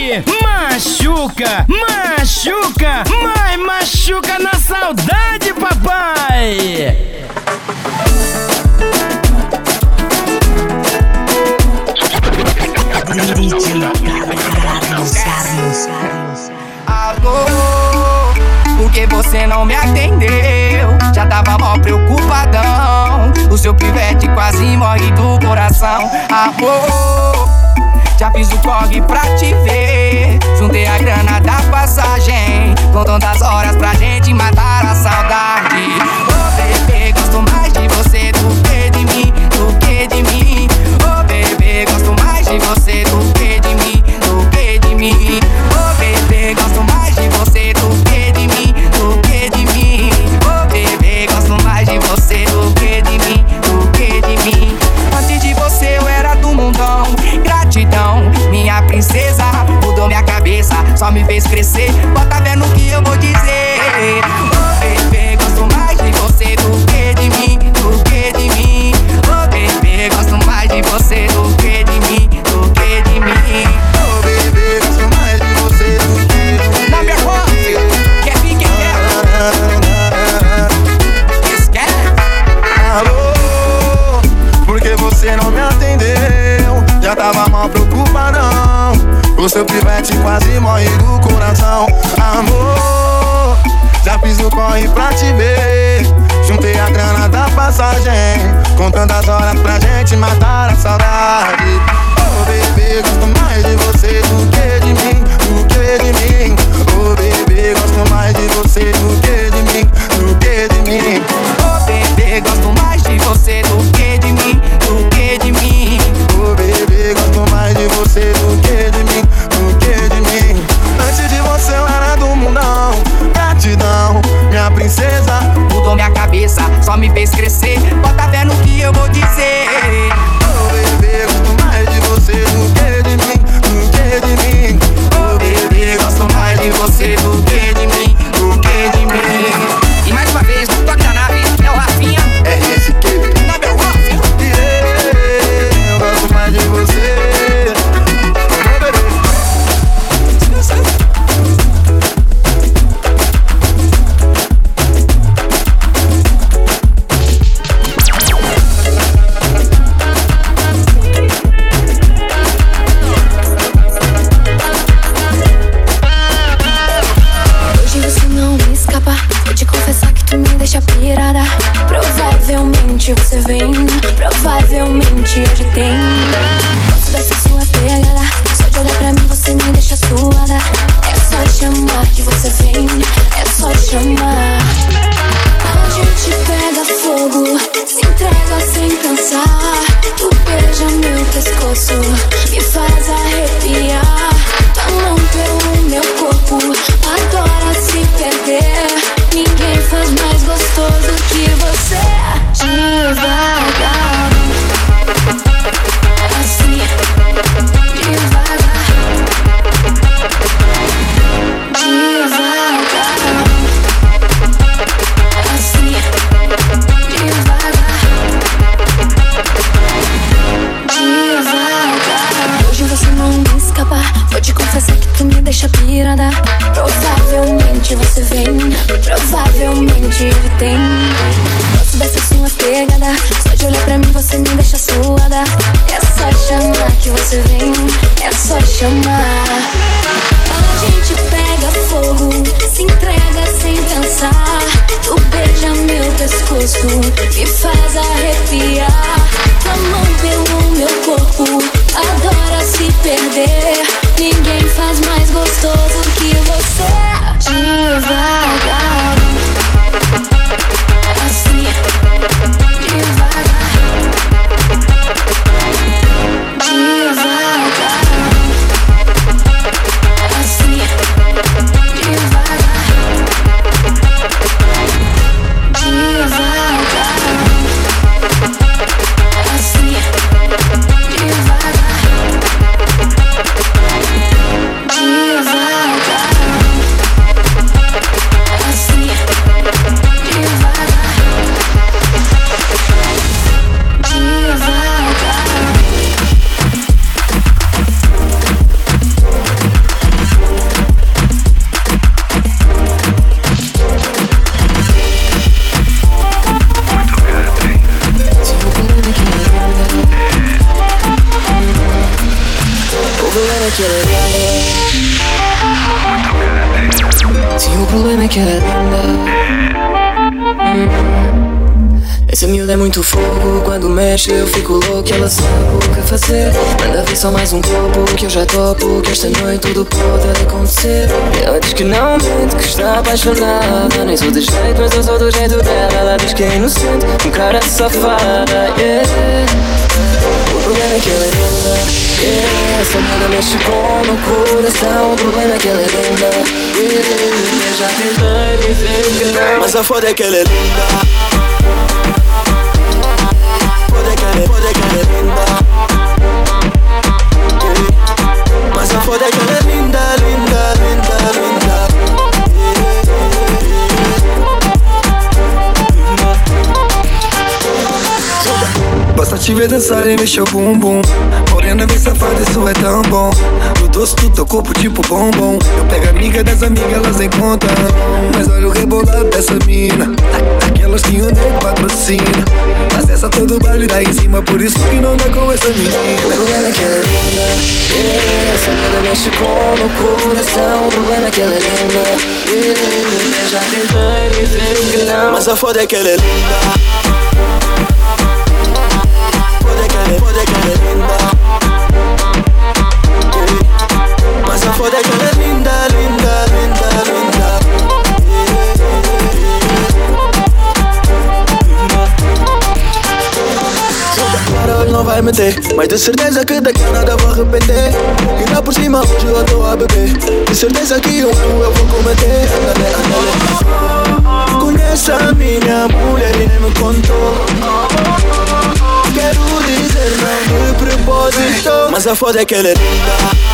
que machuca, machuca, mas machuca na saudade, papai. Alô, por que você não me atendeu? Já tava mó preocupadão. O seu pivete quase morre do coração. Amor, já fiz o corre pra te ver. Juntei a grana da passagem, contando as horas pra gente matar a saudade. Oh bebê, gosto mais de você do que de mim, do que de mim. Oh bebê, gosto mais de você do que de mim, do que de mim. Oh bebê, gosto mais de você do que de mim, do que de mim. Oh bebê, gosto mais de você do que de mim, do que de mim. Antes de você eu era do mundão. Gratidão, minha princesa, mudou minha cabeça, só me fez crescer. Bota vendo o que eu vou dizer. Oh bebê, gosto mais de você do que de mim, do que de mim. Oh bebê, gosto mais de você do que de mim, do que de mim. Oh bebê, gosto mais de você do que de mim. Na minha voz, quer vir, quer quer. Esquece. Alô, por que você não me atendeu? Já tava mal preocupadão. O seu pivete quase morre do coração. Amor, já fiz o corre pra te ver. Juntei a grana da passagem, contando as horas pra gente matar a saudade. Oh bebê, gosto mais de você do que de mim, do que de mim. Oh bebê, gosto mais de você do que de mim, do que de mim. Oh bebê, gosto mais de você do que de mim, do que de mim. Oh bebê, gosto mais de você do que de mim, do que de mim. Antes de você eu era do mundão. Gratidão, minha princesa, mudou minha cabeça, só me fez crescer. Bota vendo o que eu vou dizer. oh bebê, gosto mais de você do que de mim, do que de mim. Oh bebê, gosto mais de você do que de mim, do que de mim. E mais uma vez, no toque da nave, é o Rafinha. RSQ, Na meu rock. eu gosto mais de você. Oh bebê. Hoje você não me escapa. Vou te confessar que tu me deixa pirada. Provavelmente você vem, provavelmente hoje tem. Gosto dessa sua pegada. Só de olhar pra mim você me deixa suada. É só chamar que você vem, é só chamar. A gente pega fogo, se entrega sem cansar. Tu beija meu pescoço, me faz arrepiar. Tua mão pelo meu corpo, adora se perder. Ninguém faz mais gostoso que você. Devagar, assim, devagar, devagar, assim, devagar, devagar. Hoje você não me escapa. Vou te confessar que tu me deixa pirada. Provavelmente você vem, provavelmente ele tem. Gosto dessa sua pegada. Só de olhar pra mim você me deixa suada. É só chamar que você vem, é só chamar. A gente pega fogo, se entrega sem pensar. Tu beija meu pescoço, me faz arrepiar. Tua mão pelo meu corpo, adora se perder. Ninguém faz mais gostoso que você. Devagar, assim, devagar, devagar, assim, devagar, devagar, assim, devagar, devagar. problema é que ela é linda. Sim, o problema é que ela é linda. Essa miúda é muito fogo, quando mexe eu fico louco. Ela sabe o que fazer, manda vir só mais um copo, que eu já topo, que esta noite tudo pode acontecer. Ela diz que não mente, que está apaixonada. Nem sou de jeito, mas eu sou do jeito dela. Ela diz que é inocente, um cara safada, yeah. O problema é que ela é linda, yeah. Essa miúda mexe com o meu coração. O problema é que ela é linda, yeah. Eu já tentei dizer que não, mas a foda é que ela é linda. Pode que ela é linda, mas a foda é que ela é linda, linda, linda, linda. Basta te ver dançar e mexer o bumbum. Morena bem safada, isso é tão bom. No doce do teu corpo tipo bombom. Eu pego amiga das amigas, elas nem contam. Mas olha o rebolado dessa mina, aquelas que o nego patrocina. Mas essa todo baile dá em cima, por isso que não dá com essa menina. O problema é que ela é linda, yeah. Essa mina mexe com o meu coração. O problema é que ela é linda, yeah. Eu já tentei dizer que não, mas a foda é que ela é linda. Pode que ela é linda, mas a foda é que ela é linda, linda, linda, linda. Agora hoje não vai meter, mas de certeza que daqui a nada vou arrepender. E lá por cima hoje eu tô a beber. De certeza que um erro eu vou cometer. Conhece a minha mulher e nem me contou. Quero dizer não de propósito, mas a foda é que ela é linda.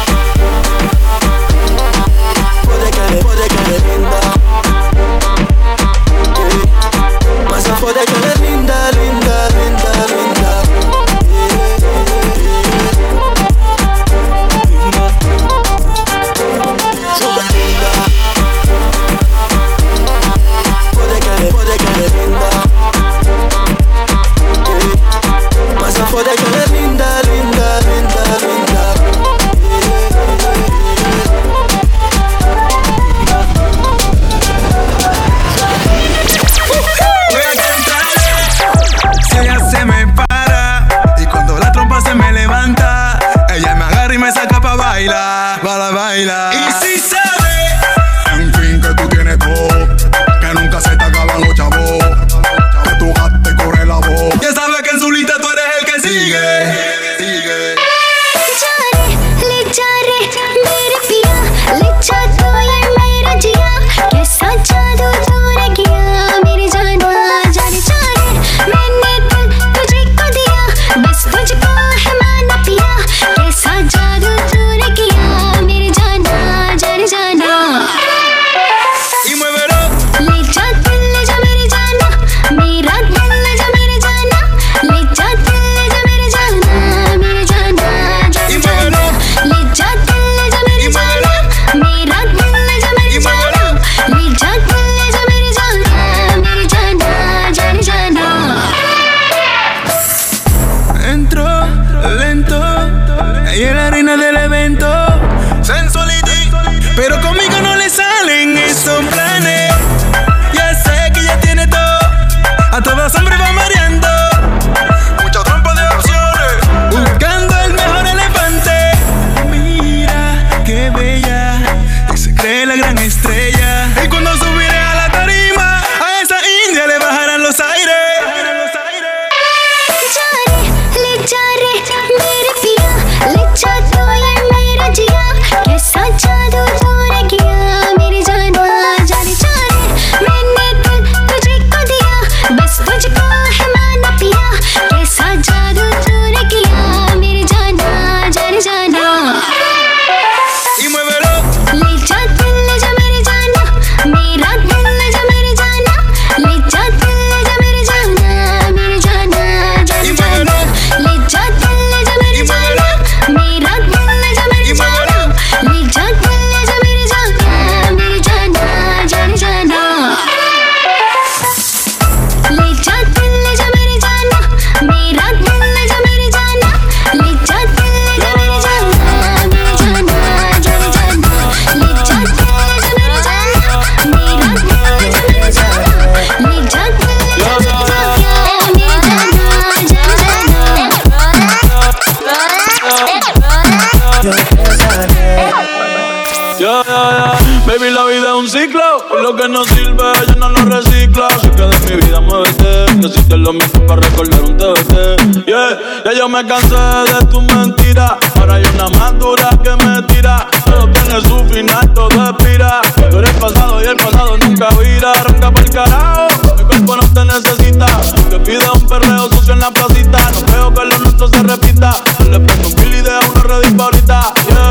Pode que ela é linda, mas a foda é que ela é linda, linda, linda, linda. Pode que ela é linda, mas a foda é que ela é linda, linda, linda, linda. Si ella se me para y cuando la trompa se me levanta, ella me agarra y me saca pa' bailar, para bailar. Y si sabe, en fin, que tú tienes todo, que nunca se te acaban los chavos, que tu gato te corre la voz. Ya sabes que en su lista tú eres el que sigue. जा Baby, la vida es un ciclo y lo que no sirve yo no lo reciclo. Así que de mi vida muévete, que si te lo meto para recordar un TBT. Ya yo me cansé de tu mentira. Ahora hay una más dura que me tira. Todo tiene su final, todo expira. Tú eres pasado y el pasado nunca vira. Arranca pa'l carajo, mi cuerpo no te necesita. Que pida un perreo sucio en la placita. No creo que lo nuestro se repita. Le prendo un kill y deja una red ahorita.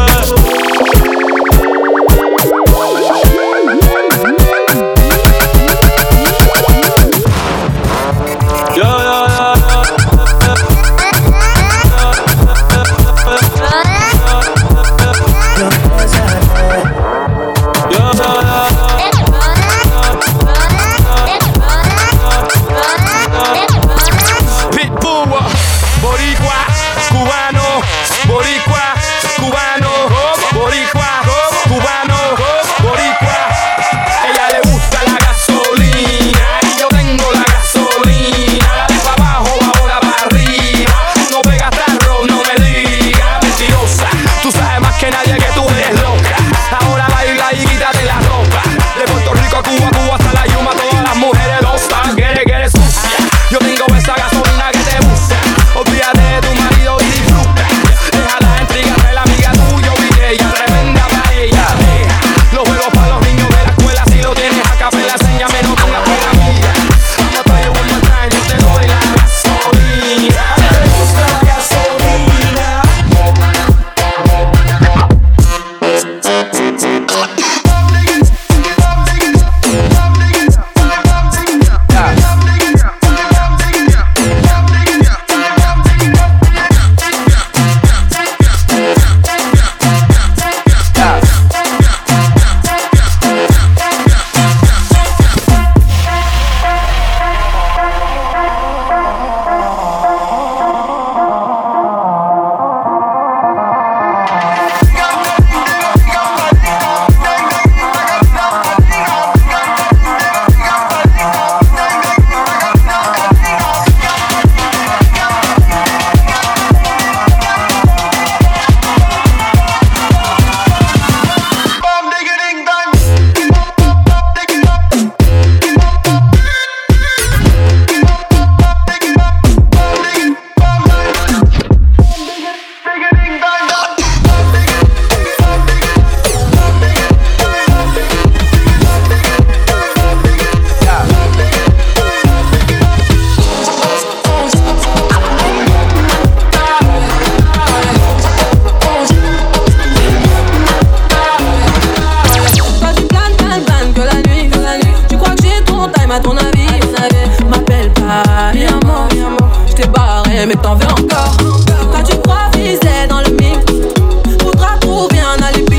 Mais t'en veux encore. Quand tu crois viser dans le mix, faudra trouver un alibi.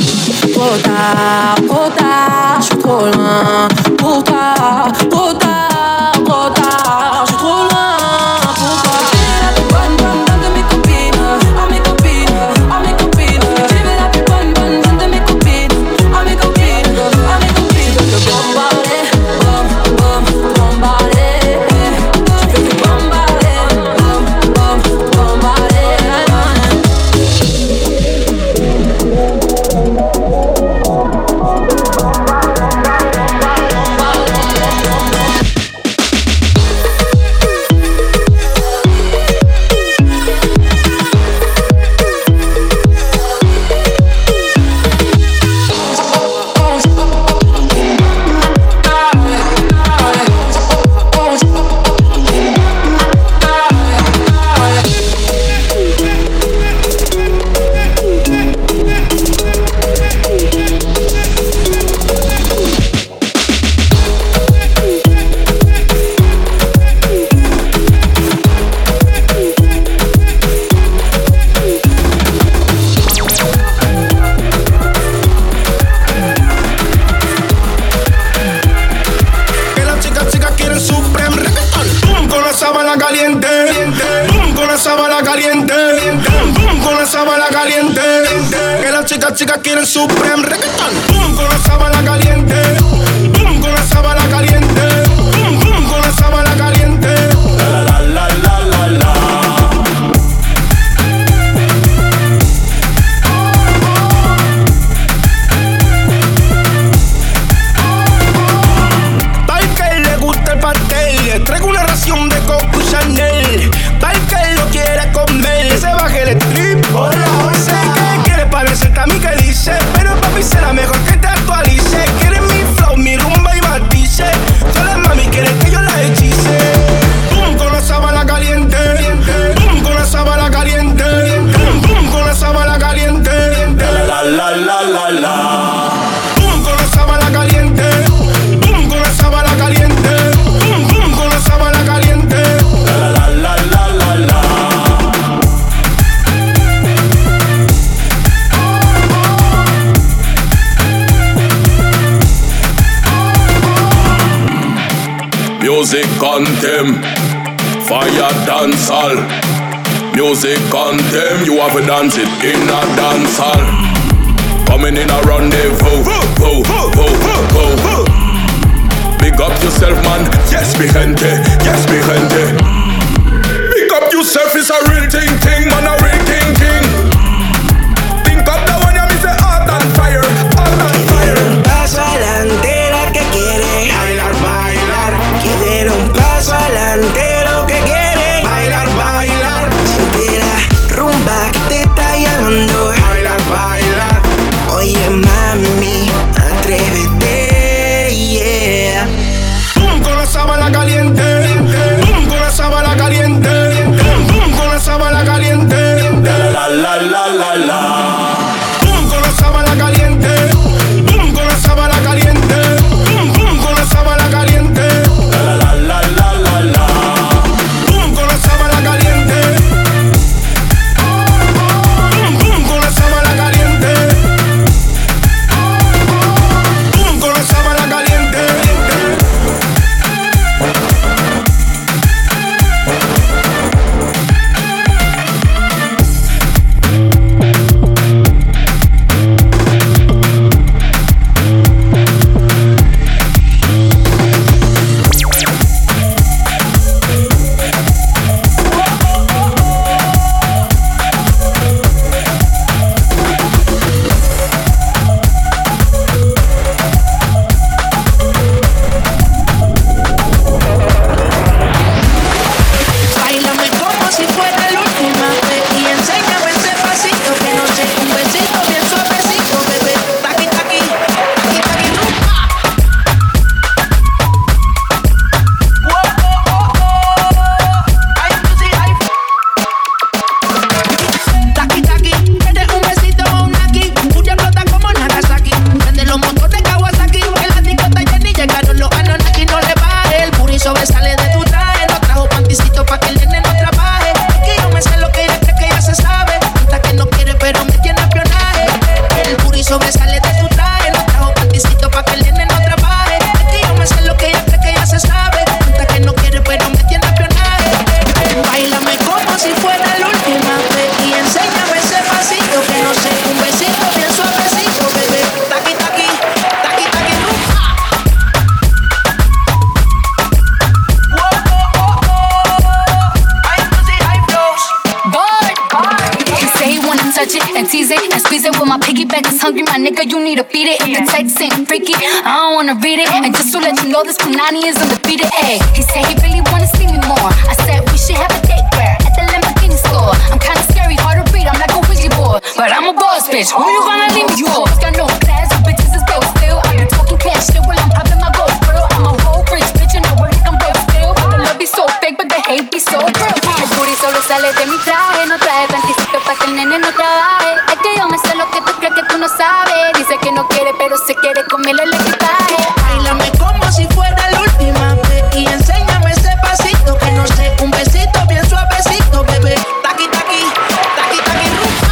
Trop tard, je suis trop loin pour toi. Trop tard, je suis trop loin pour toi. Tu es la plus bonne de mes copines. Oh mes copines, oh mes copines. Tu es la plus bonne de mes copines. Oh mes copines, oh mes copines. Je veux te bombarder, bombarder. Je veux te bombarder. Chicas quieren Supreme reggaeton. Boom con la sábana caliente. Boom con la sábana caliente. Boom boom con la sábana caliente. La la la la la la. Music anthem, fire dance hall. Music anthem, you have to dance it in a dance hall. Coming in a rendezvous, voo, voo, voo. Big up yourself, man. Yes, mi gente. Yes, mi gente. Big up yourself, it's a real thing, man, a real thing. Think up the one you miss, hot and fire, hot and fire. Un paso adelante lo que quiere bailar, bailar. Quieren un paso adelante lo que quiere bailar, bailar. Siente la rumba que te está llamando, bailar, bailar. Oye mami, atrévete, yeah. Boom con la sábana caliente, boom con la sábana caliente, boom con la sábana caliente. La la la la la. Boom con la sábana caliente, boom con la sábana caliente, boom con la sábana caliente. La la la la la la. Boom con la sábana caliente, boom con la sábana caliente, boom con la sábana caliente. Báilame como si fuera la última vez y enséñame ese pasito que no sé, un besito bien suavecito, bebé. Taqui, taqui, taqui, taqui, rumba. Ay, Lucy, ay. Taqui, taqui, ¿quieres un besito o un aquí? Puya flota como Nagasaki. Prende los motores Kawasaki. El ático está lleno y llegaron los Anunnaki. No le baje, el puri sobresale de tu traje. No trajo panticito pa' que el nene no trabaje. Es que yo me sé lo que ella cree que ya se sabe. Hasta que no quiere pero me tiene espionaje. El puri sobresale de tu traje. No trajo panticito pa' que el nene no trabaje. Es que yo me sé lo que ella cree que ya se sabe. Hasta que no quiere pero me tiene espionaje. Báilame como si fuera la última vez y enséñame ese pasito que no sé, un besito bien suavecito, bebé. Taqui, taqui, taqui, taqui, rumba. Ay, Lucy, ay, flows. He say he wanna touch it and tease it and squeeze it. When my piggyback is hungry, my nigga, you need to feed it. If the text ain't freaky, I don't wanna read it. And just to let you know, this Punani is undefeated. Ay, he said he really wanna see me more. I said we should have a date where at the Lamborghini store. I'm kinda scary, hard to read, I'm like a Ouija board, but I'm a boss bitch. Who you gonna leave me for? Got no class, you bitches is broke still. I be talking cash shit while I'm popping my gold grill. I'm a whole rich bitch and I work like I'm broke still. The love be so fake, but the hate be so real. El booty sobresale de mi traje, no trae panticito pa' que el nene no trabaje. Es que yo me sé lo que tú crees que tú no sabes. Dice que no quiere, pero se quiere comerle el equipaje. Báilame como si fuera la última vez y enséñame ese pasito que no sé, un besito bien suavecito, bebé. Taqui, taqui, taqui, taqui, rumba.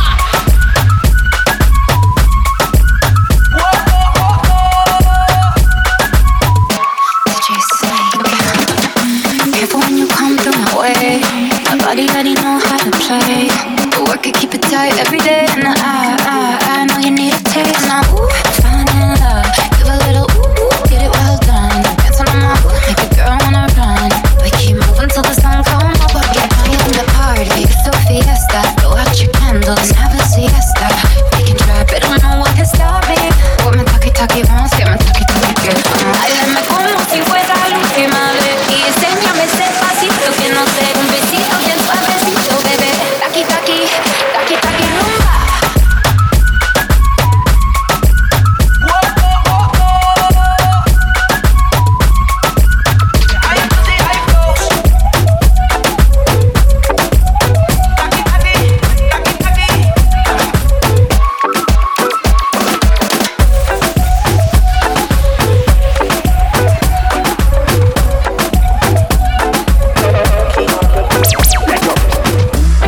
Careful when you come through my way. My body already know how to play. The work it, keep it tight every day. And I know you need a taste. Now, ooh, falling in love. Give a little ooh, get it well done. Dancing on my ooh, make a girl wanna run. We keep moving till the sun comes up. Get high in the party, it's a fiesta. Blow out your candles, have a siesta. We can try, but don't know what can stop me. What me talkie, vamos, que me talkie. Báilame como si fuera la última vez y enséñame ese pasito que no sé, un besito bien suavecito, bebé. Taqui, taqui, taqui, taqui, rumba. Ay, Lucy, ay, flows. Taqui, taqui, taqui, taqui.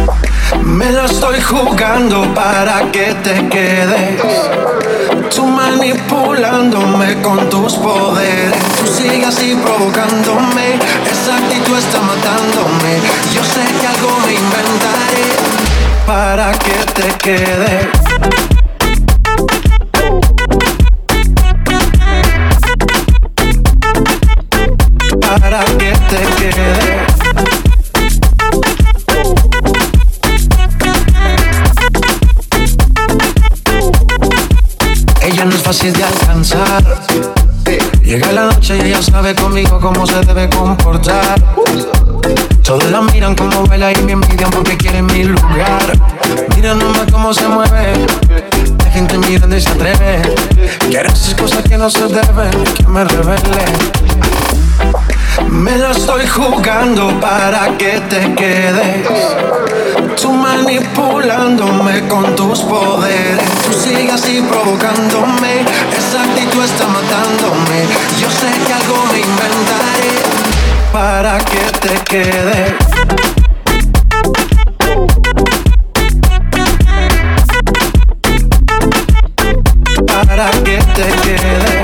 Me la estoy jugando para que te quedes. Tu manera manipulándome con tus poderes. Tú sigues así provocándome, esa actitud está matándome. Yo sé que algo me inventaré para que te quedes. Para que te quedes. Ella no es fácil de alcanzar. Llega la noche y ella sabe conmigo cómo se debe comportar. Todos la miran como baila y me envidian porque quieren mi lugar. Mira nomás cómo se mueve, la gente mirando y se atreve. Quiere hacer cosas que no se deben, que me revele. Me la estoy jugando para que te quedes. Tú manipulándome con tus poderes. Tú sigues así provocándome, esa actitud está matándome. Yo sé que algo me inventaré para que te quedes. Para que te quedes.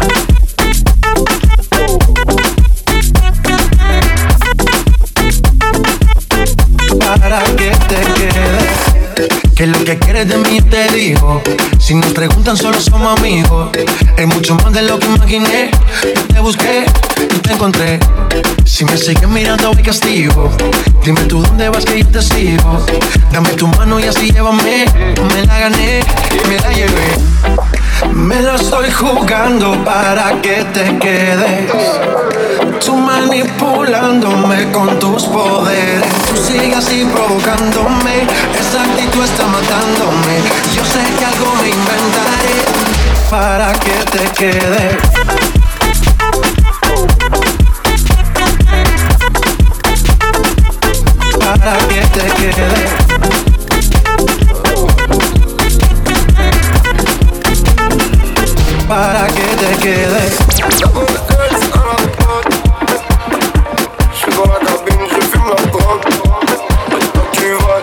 Para que te quedes. Que lo que quieres de mí te digo. Si nos preguntan solo somos amigos. Es mucho más de lo que imaginé. Yo te busqué y te encontré. Si me sigues mirando voy castigo. Dime tú dónde vas que yo te sigo. Dame tu mano y así llévame. Me la gané y me la llevé. Me la estoy jugando para que te quedes. Tú manipulándome con tus poderes. Tú sigues así provocándome, esa actitud está matándome. Yo sé que algo me inventaré para que te quedes. Para que te quedes. Para que te quedes. Je suis dans la cabine, je fume la drogue. Tu vas.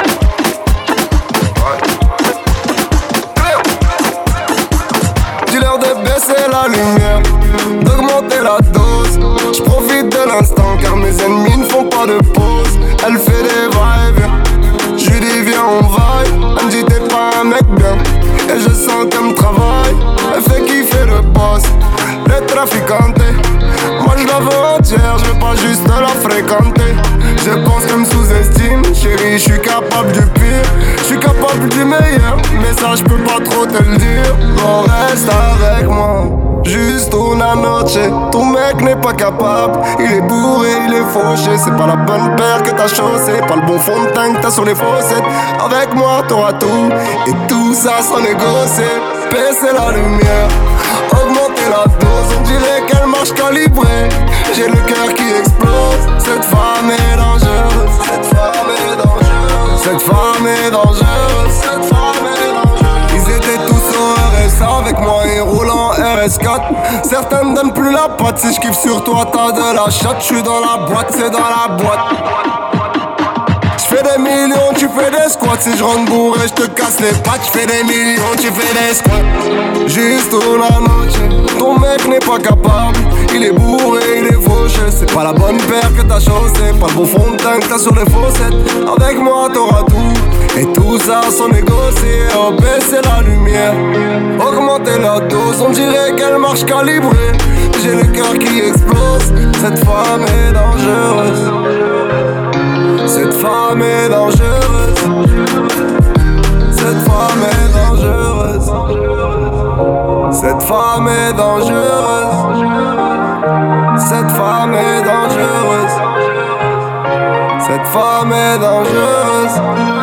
Dis-leur de baisser la lumière, d'augmenter la dose. Je profite de l'instant car mes ennemis ne font pas de pause. Elle fait des vibes, je lui dis viens on vaille. Elle me dit t'es pas un mec bien, et je sens qu'elle me travaille. Elle fait kiffer le boss, le traficante. Moi je la veux entière, je veux pas juste la fréquenter. Je pense qu'elle me sous-estime, chérie, je suis capable du pire. Je suis capable du meilleur, mais ça je peux pas trop te le dire. Non, reste avec moi, juste una noche. Ton mec n'est pas capable, il est bourré, il est fauché. C'est pas la bonne paire que t'as chaussé, pas le bon fond de teint que t'as sur les fossettes. Avec moi t'auras tout, et tout ça sans négocier. Baisser la lumière, augmenter la dose. On dirait qu'elle marche calibrée. J'ai le cœur qui explose. Cette femme est dangereuse. Cette femme est dangereuse. Cette femme est dangereuse. Cette femme est dangereuse. Ils étaient tous au RS avec moi et roulant RS4. Certains ne donnent plus la patte. Si je kiffe sur toi, t'as de la chatte. Je suis dans la boîte, c'est dans la boîte. J'fais des millions, tu fais des squats. Si je rentre bourré, j'te casse les pattes. J'fais des millions, tu fais des squats. Juste una noche. Ton mec n'est pas capable. Il est bourré, il est fauché. C'est pas la bonne paire que t'as chaussé, pas le bon fond de teint que t'as sur les fossettes. Avec moi t'auras tout, et tout ça sans négocier. Oh, baisser la lumière, augmenter la dose. On dirait qu'elle marche calibrée. J'ai le cœur qui explose. Cette femme est dangereuse. Cette femme est dangereuse. Cette femme est dangereuse. Cette femme est dangereuse. Cette femme est dangereuse. Cette femme est dangereuse.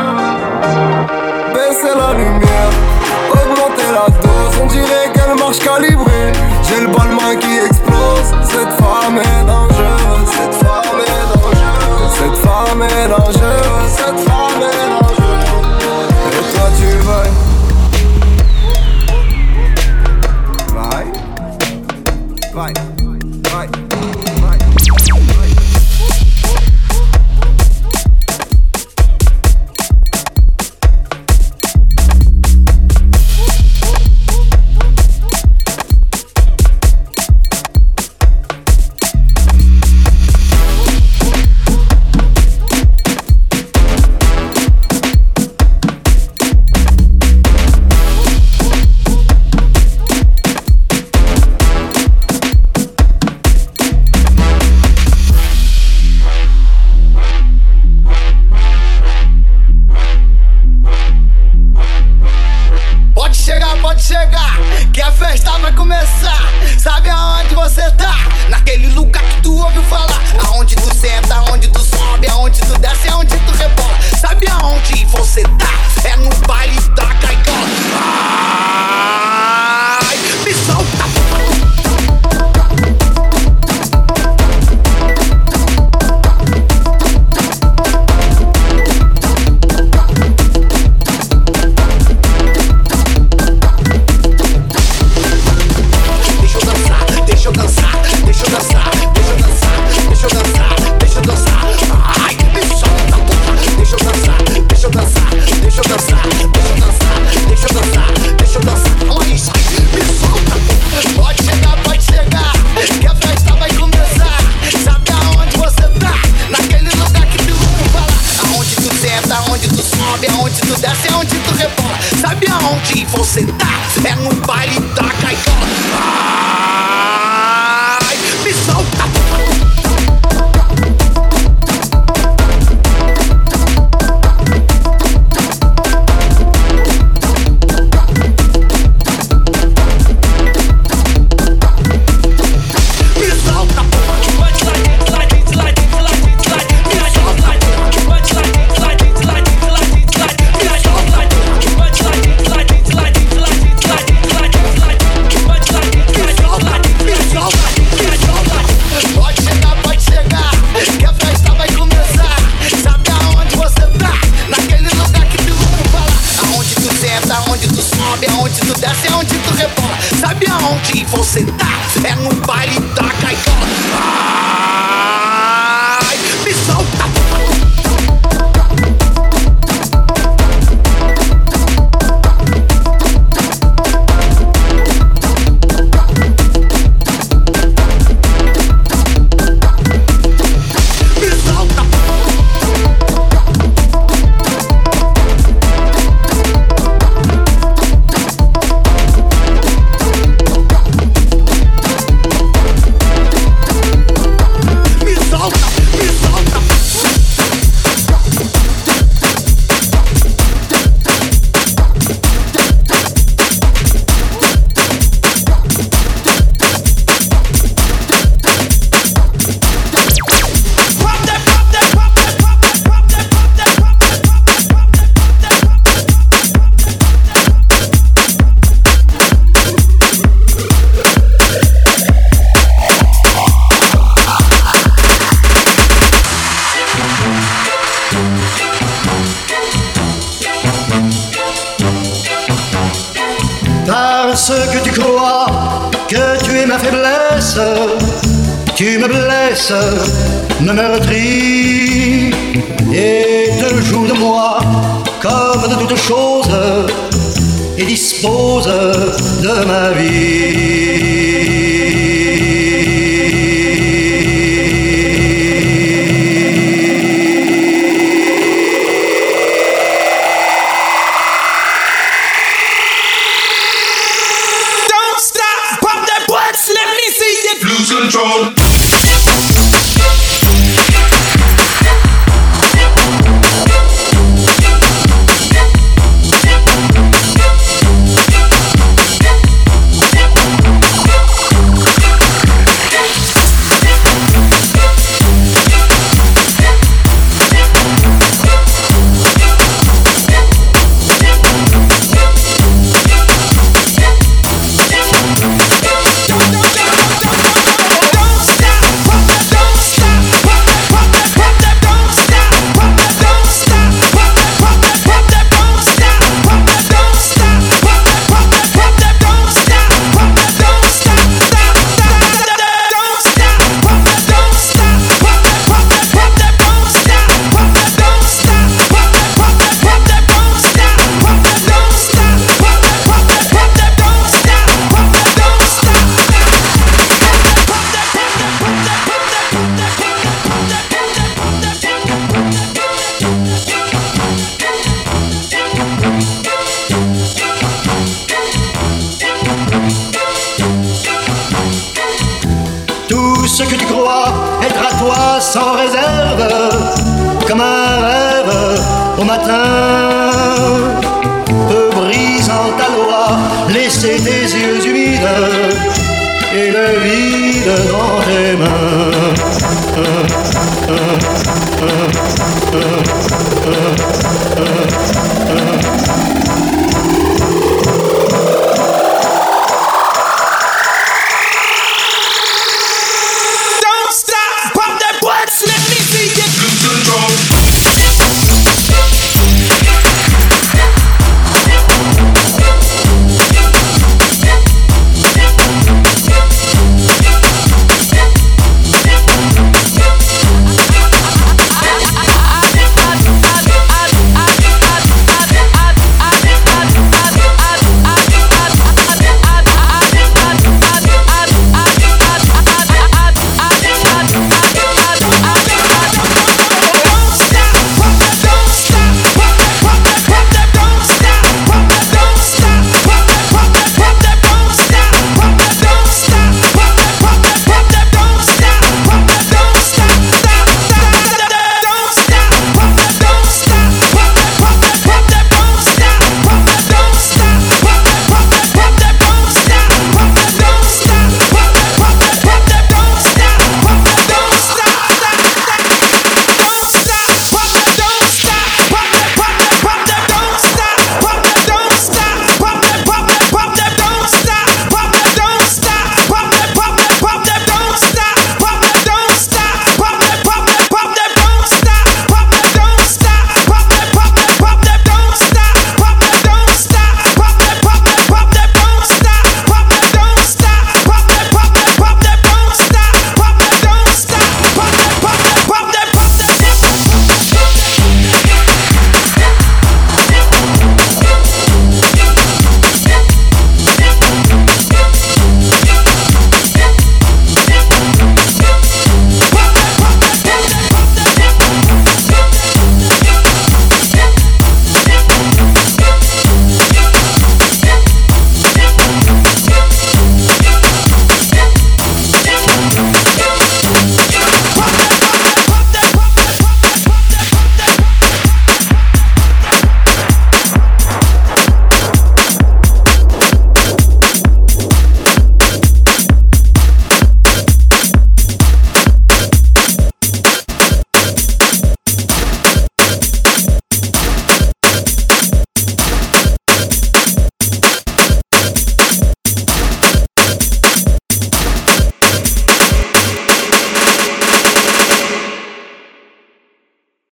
Baisser la lumière, augmenter la dose. On dirait qu'elle marche calibrée. J'ai le balmain qui explose. Cette femme est dangereuse. Cette femme est dangereuse. Cette femme est dangereuse. Cette femme est dangereuse. Et toi tu vas. Bye. Bye. festa vai começar. Sabe aonde você tá? Naquele lugar que tu ouviu falar. Aonde tu senta, aonde tu sobe, aonde tu desce, aonde tu rebola. Sabe aonde você tá? É no baile da Caicó. Ai, me solta. Aonde tu desce, aonde tu rebola. Sabe aonde você tá? É no baile da Caicó. Ai, me solta. Aonde tu desce, aonde tu rebola. Sabe aonde você tá? É no baile da Caicó. Ai, me solta. Parce que tu crois que tu es ma faiblesse, tu me blesses, me meurtris et te joues de moi comme de toutes choses et dispose de ma vie. Control. ce que tu crois être à toi sans réserve, comme un rêve au matin, peu brisant ta loi, les laisser tes yeux humides et le vide dans tes mains.